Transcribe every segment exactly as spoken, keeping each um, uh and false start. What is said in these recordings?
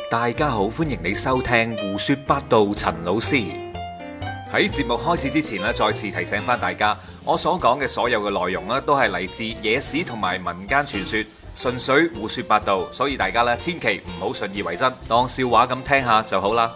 大家好，歡迎你收聽胡說八道。陳老師喺節目開始之前咧，再次提醒翻大家，我所講嘅所有嘅內容咧，都係嚟自野史同埋民間傳說，純粹胡說八道，所以大家咧千祈唔好信以為真，當笑話咁聽下就好啦。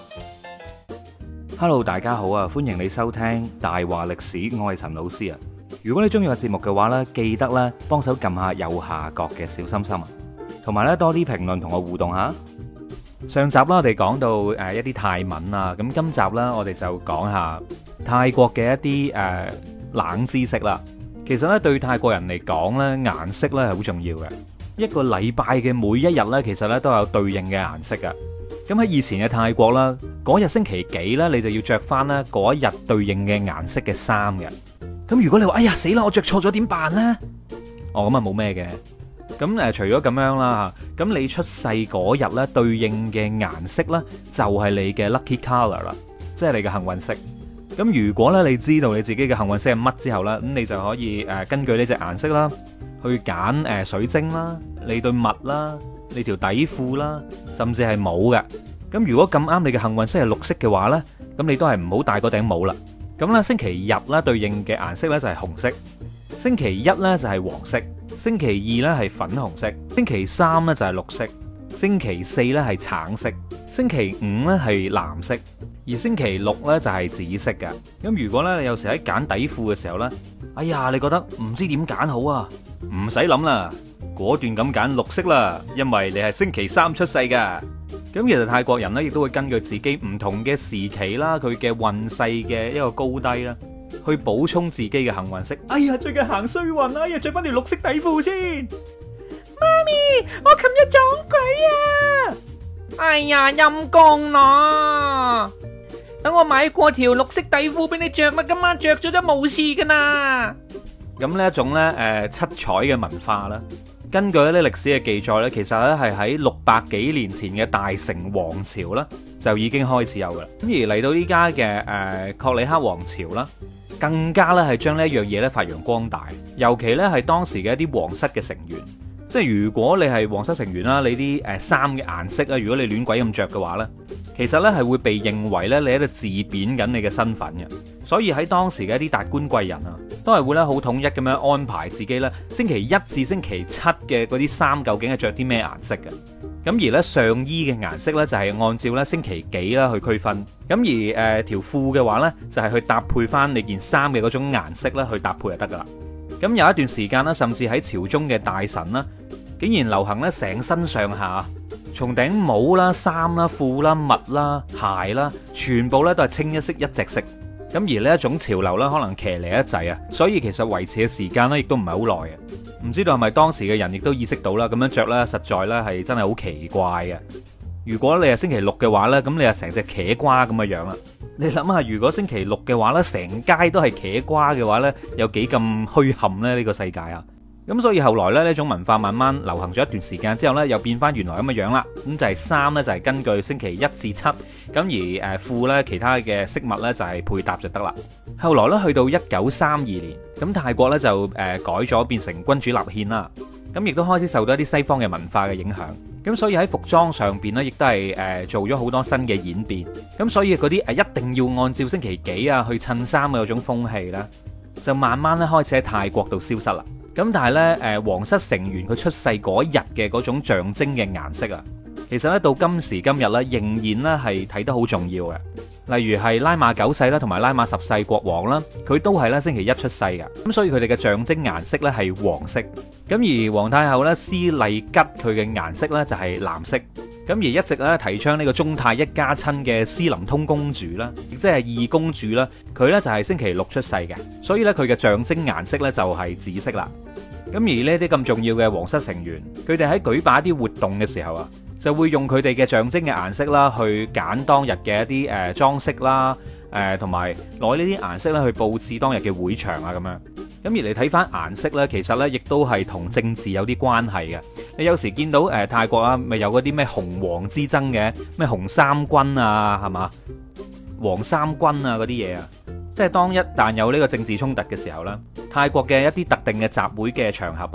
Hello， 大家好啊，歡迎你收聽大話歷史，我係陳老師啊。如果你中意個節目嘅話呢，記得咧幫手撳下右下角嘅小心心啊，同埋咧多啲評論同我互動下。上集啦，我哋講到誒一啲泰文啊，咁今集啦，我哋就講下泰國嘅一啲誒冷知識啦。其實咧對泰國人嚟講咧，顏色咧係好重要嘅。一個禮拜嘅每一日咧，其實咧都有對應嘅顏色噶。咁喺以前嘅泰國啦，嗰日星期幾咧，你就要着翻咧嗰一日對應嘅顏色嘅衫嘅。咁如果你話哎呀死啦，我着錯咗點辦呢？哦，咁啊冇咩嘅。咁誒，除咗咁樣啦，咁你出世嗰日咧對應嘅顏色咧就係你嘅 lucky color 啦，即係你嘅幸運色。咁如果咧你知道你自己嘅幸運色係乜之後咧，咁你就可以誒根據呢隻顏色啦，去揀誒水晶啦，你對襪啦，你條底褲啦，甚至係帽嘅。咁如果咁啱你嘅幸運色係綠色嘅話咧，咁你都係唔好戴嗰頂帽啦。咁咧星期日咧對應嘅顏色咧就係紅色，星期一咧就係黃色，星期二咧係粉紅色，星期三咧就係綠色，星期四咧係橙色，星期五咧係藍色，而星期六咧就係紫色嘅。咁如果咧你有時喺揀底褲嘅時候咧，哎呀你覺得唔知點揀好啊，唔使諗啦，果斷咁揀綠色啦，因為你係星期三出世噶。咁其實泰國人咧亦都會根據自己唔同嘅時期啦，佢嘅運勢嘅一個高低啦，去補充自己嘅幸運色。哎呀，最近行衰運，哎呀，着翻條綠色底褲先。媽咪，我琴日撞鬼啊！ 哎呀，陰公咯！等我買過條綠色底褲俾你着啦，今晚着咗都冇事噶啦。 咁呢一種咧，誒七彩嘅文化啦，根據一啲歷史嘅記載咧，其實咧係喺六百幾年前嘅大成王朝啦，就已經開始有噶啦。咁而嚟到依家嘅誒確里克王朝啦，更加咧係將呢一樣嘢咧發揚光大。尤其咧係當時嘅一啲皇室嘅成員，即係如果你係皇室成員啦，你啲誒衫嘅顏色啊，如果你亂鬼咁着嘅話咧，其實咧係會被認為咧你喺度自貶緊你嘅身份嘅。所以喺當時嘅一啲達官貴人啊，都係會咧好統一咁樣安排自己咧星期一至星期七嘅嗰啲衫究竟係着啲咩顏色嘅。咁而咧上衣嘅顏色咧就係按照咧星期幾啦去區分。咁而誒條褲嘅話咧就係去搭配翻你件衫嘅嗰種顏色咧去搭配就得噶啦。咁有一段時間咧，甚至喺朝中嘅大臣啦，竟然流行咧成身上下從頂帽啦、衫啦、褲啦、襪啦、鞋啦，全部咧都係清一色一隻色。咁而呢一種潮流咧，可能騎呢一滯啊，所以其實維持嘅時間咧，亦都唔係好耐嘅。唔知道係咪當時嘅人亦都意識到啦，咁樣着咧，實在咧係真係好奇怪嘅。如果你係星期六嘅話咧，咁你係成隻茄瓜咁嘅樣啦。你諗下，如果星期六嘅話咧，成街都係茄瓜嘅話咧，有幾咁虛冚咧呢個世界啊！咁所以後來咧呢種文化慢慢流行咗一段時間之後咧，又變翻原來咁嘅樣啦。咁就係衫咧就係根據星期一至七，咁而誒褲咧其他嘅飾物咧就係配搭就得啦。後來咧去到一九三二年，咁泰國咧就誒改咗變成君主立憲啦。咁亦都開始受到一啲西方嘅文化嘅影響。咁所以喺服裝上邊咧，亦都係誒做咗好多新嘅演變。咁所以嗰啲誒一定要按照星期幾啊去襯衫嘅嗰種風氣咧，就慢慢咧開始喺泰國度消失啦。咁但係咧，誒皇室成員佢出世嗰日嘅嗰種象徵嘅顏色啊，其實咧到今時今日咧，仍然咧係睇得好重要嘅。例如係拉瑪九世啦，同埋拉瑪十世國王啦，佢都係咧星期一出世嘅。咁所以佢哋嘅象徵顏色咧係黃色。咁而皇太后咧斯麗吉佢嘅顏色咧就係藍色。咁而一直咧提倡呢個中泰一家親嘅斯林通公主啦，亦即係二公主啦，佢咧就係星期六出世嘅，所以咧佢嘅象徵顏色咧就係紫色啦。咁而呢啲咁重要嘅皇室成員，佢哋喺舉辦一啲活動嘅時候啊，就會用佢哋嘅象徵嘅顏色啦，去揀當日嘅一啲誒裝飾啦，誒同埋攞呢啲顏色咧去佈置當日嘅會場啊咁樣。咁而你睇翻顏色咧，其實咧亦都係同政治有啲關係嘅。你有時見到誒泰國啊，咪有嗰啲咩紅黃之爭嘅，咩紅衫軍啊，係嘛，黃衫軍啊嗰啲嘢啊。即係當一旦有呢個政治衝突嘅時候咧，泰國嘅一啲特定嘅集會嘅場合啊，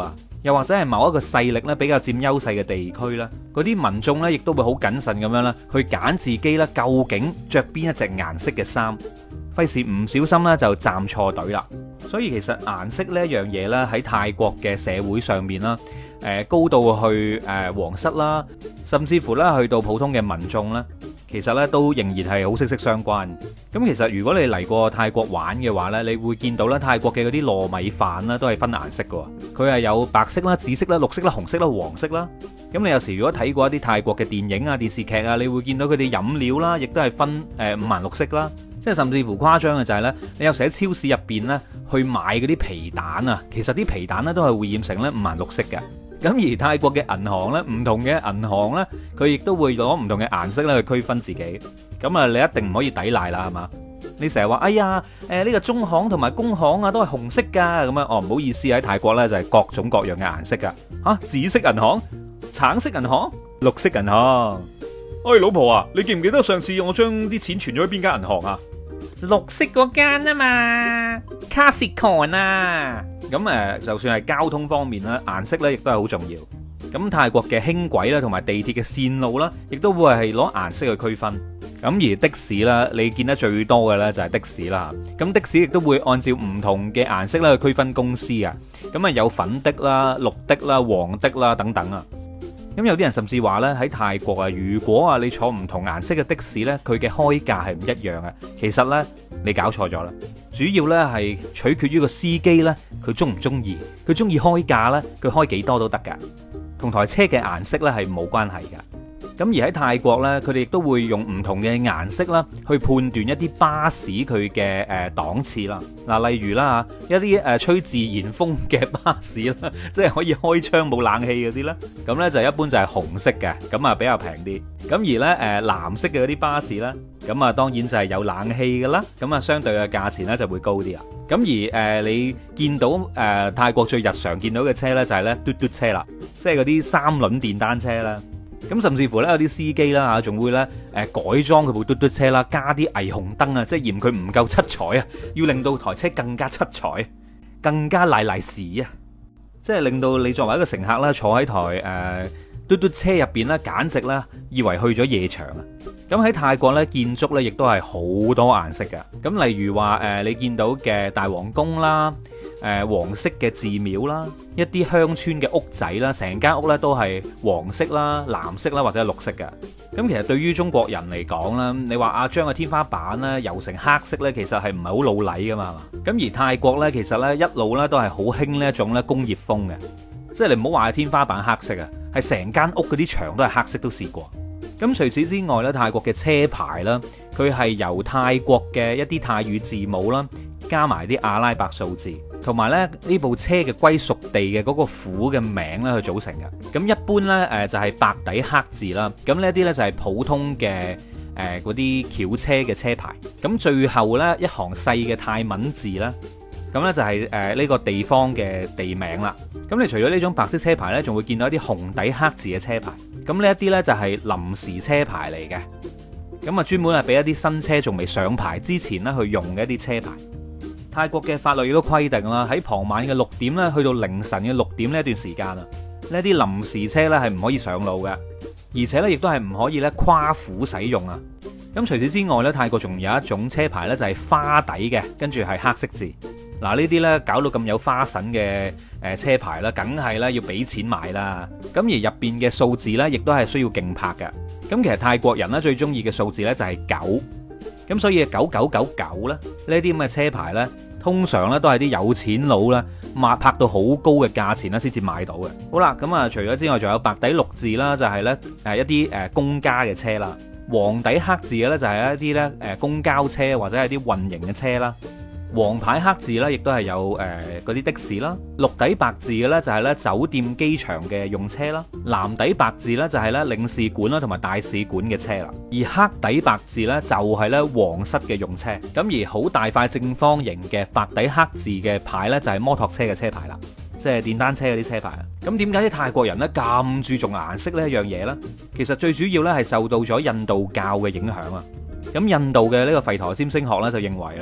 又或者係某一個勢力咧比較佔優勢嘅地區咧，嗰啲民眾咧亦都會好謹慎咁樣啦，去揀自己咧究竟着邊一隻顏色嘅衫，費事唔小心咧就站錯隊啦。所以其實顏色呢一樣嘢咧喺泰國嘅社會上面啦，誒高到去誒皇室啦，甚至乎咧去到普通嘅民眾咧，其實咧都仍然係好息息相關。咁其實如果你嚟過泰國玩嘅話呢，你會見到咧泰國嘅嗰啲糯米飯啦，都係分顏色嘅。佢係有白色啦、紫色啦、綠色啦、紅色啦、黃色啦。咁你有時如果睇過一啲泰國嘅電影啊、電視劇啊，你會見到佢哋飲料啦，亦都係分誒五顏六色啦。即係甚至乎誇張嘅就係呢，你有時喺超市入邊呢去買嗰啲皮蛋啊，其實啲皮蛋呢都係會染成咧五顏六色嘅。咁而泰國嘅銀行呢，唔同嘅銀行呢，佢亦都會攞唔同嘅顏色咧去區分自己。咁啊，你一定唔可以抵賴啦，係嘛？你成日話，哎呀，誒呢個中行同埋工行啊，都係紅色噶，咁樣哦，唔好意思，喺泰國呢，就係各種各樣嘅顏色噶。吓，紫色銀行、橙色銀行、綠色銀行。哎，老婆啊，你記唔記得上次我將啲錢存咗喺邊間銀行啊？ 綠色嗰間啊嘛，卡士康啊。 咁誒，就算係交通方面咧，顏色咧亦都係好重要。咁泰國嘅輕軌啦，同埋地鐵嘅線路啦，亦都會係攞顏色去區分。咁而的士啦，你見得最多嘅咧就係的士啦。咁的士亦都會按照唔同嘅顏色咧去區分公司啊。咁啊有粉的啦、綠的啦、黃的啦等等啊。咁有啲人甚至話咧喺泰國啊，如果啊你坐唔同顏色嘅的，的士咧，佢嘅開價係唔一樣嘅。其實咧你搞錯咗啦，主要咧係取決於個司機咧，佢中唔中意，佢中意開價咧，佢開幾多都得噶，同台車嘅顏色咧係冇關係噶。咁而喺泰國呢，佢哋亦都會用唔同嘅顏色啦，去判斷一啲巴士佢嘅誒檔次啦。嗱，例如啦嚇，一啲誒吹自然風嘅巴士啦，即係可以開窗冇冷氣嗰啲咧，咁呢就一般就係紅色嘅，咁啊比較平啲。咁而呢誒藍色嘅嗰啲巴士啦，咁啊當然就係有冷氣㗎啦，咁啊相對嘅價錢呢就會高啲啊。咁而誒你見到誒泰國最日常見到嘅車呢，就係呢嘟嘟車啦，即係嗰啲三輪電單車啦。咁甚至乎咧有啲司機啦嚇，仲會咧誒改裝佢部嘟嘟車啦，加啲霓虹燈啊，即係嫌佢唔夠七彩啊，要令到台車更加七彩，更加賴賴屎啊！即係令到你作為一個乘客啦，坐喺台誒、呃、嘟嘟車入邊咧，簡直咧以為去咗夜場啊！咁喺泰國咧，建築咧亦都係好多顏色嘅。咁例如話誒、呃，你見到嘅大皇宮啦。誒、呃、黃色嘅寺廟啦，一啲鄉村嘅屋仔啦，成間屋咧都係黃色啦、藍色啦或者係綠色嘅。咁其實對於中國人嚟講啦，你話啊將個天花板咧油成黑色咧，其實係唔係好老禮噶嘛？係嘛？咁而泰國咧，其實咧一路咧都係好興呢一種咧工業風嘅，即係你唔好話係天花板黑色啊，係成間屋嗰啲牆都係黑色都試過。咁除此之外咧，泰國嘅車牌啦，佢係由泰國嘅一啲泰語字母啦，加埋啲阿拉伯數字。同埋咧呢部車嘅歸屬地嘅嗰個府嘅名咧去組成嘅。咁一般呢，誒就係白底黑字啦。咁呢啲呢，就係普通嘅誒嗰啲轎車嘅車牌。咁最後呢，一行細嘅泰文字啦。咁呢，就係誒呢個地方嘅地名啦。咁你除咗呢種白色車牌呢，仲會見到一啲紅底黑字嘅車牌。咁呢一啲呢，就係臨時車牌嚟嘅。咁啊專門係俾一啲新車仲未上牌之前呢去用嘅一啲車牌。泰國嘅法律亦都規定啦，喺傍晚嘅六點咧，去到凌晨嘅六點呢一段時間啊，呢啲臨時車咧係唔可以上路嘅，而且咧亦都係唔可以咧跨府使用啊。咁除此之外咧，泰國仲有一種車牌咧就係花底嘅，跟住係黑色字。嗱呢啲咧搞到咁有花神嘅誒車牌啦，梗係咧要俾錢買啦。咁而入邊嘅數字咧，亦都係需要競拍嘅。咁其實泰國人咧最中意嘅數字咧就係九，咁所以九九九九咧呢啲咁嘅車牌咧。通常咧都係啲有錢佬咧，抹拍到好高嘅價錢咧，先至買到嘅。好啦，咁啊，除咗之外，仲有白底綠字啦，就係咧誒一啲誒公家嘅車啦；黃底黑字嘅咧，就係一啲咧誒公交車或者係啲運營嘅車啦。黃牌黑字咧，亦都係有誒嗰啲的士啦。綠底白字嘅咧，就係咧酒店、機場嘅用車啦。藍底白字咧，就係咧領事館啦同埋大使館嘅車啦。而黑底白字咧，就係咧皇室嘅用車。咁而好大塊正方形嘅白底黑字嘅牌咧，就係摩托車嘅車牌啦，即係電單車嗰啲車牌啊。咁點解啲泰國人咧咁注重顏色呢一樣嘢咧？其實最主要咧係受到咗印度教嘅影響啊。咁印度嘅呢個吠陀占星學咧就認為啦，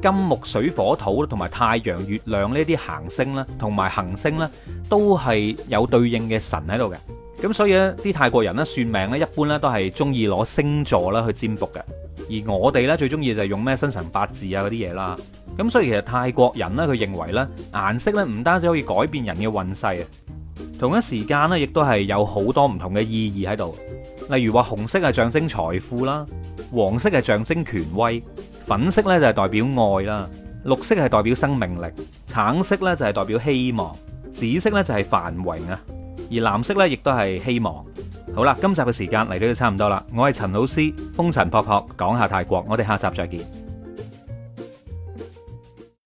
金木水火土同埋太陽、月亮呢啲行星啦，同埋行星咧，都係有對應嘅神喺度嘅。咁所以咧，啲泰國人咧算命咧，一般咧都係中意攞星座啦去占卜嘅。而我哋咧最中意就係用咩生辰八字啊嗰啲嘢啦。咁所以其實泰國人咧，佢認為咧顏色咧唔單止可以改變人嘅運勢啊，同一時間咧亦都係有好多唔同嘅意義喺度。例如話紅色係象徵財富啦，黃色係象徵權威，粉色咧就係代表愛啦，綠色係代表生命力，橙色咧就係代表希望，紫色咧就係繁榮啊，而藍色咧亦都係希望。好啦，今集嘅時間嚟到都差唔多啦，我係陳老師，風塵僕僕講下泰國，我哋下集再見。